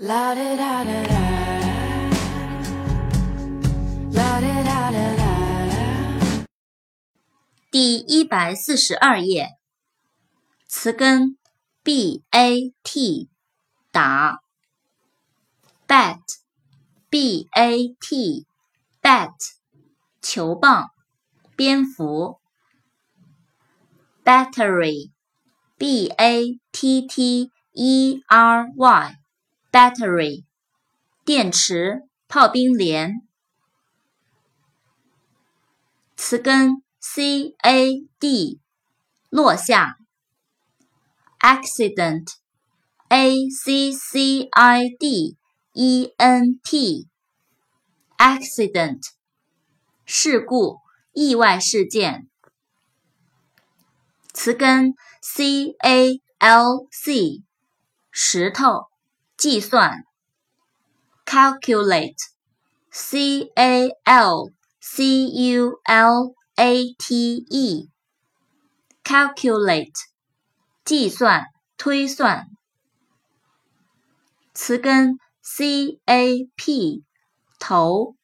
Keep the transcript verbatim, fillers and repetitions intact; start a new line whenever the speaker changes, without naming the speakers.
La da da da da. La da da da da.
第一百四十二页，词根 bat 打 bat bat bat 球棒蝙蝠 battery b-a-t-t-e-r-y battery 电池炮兵连词根 C-A-D 落下 accident A-C-C-I-D-E-N-T accident 事故意外事件词根 C-A-L-C 石头计算 calculate C-A-L-C-U-L-A-T-E calculate 计算推算词根 C-A-P 头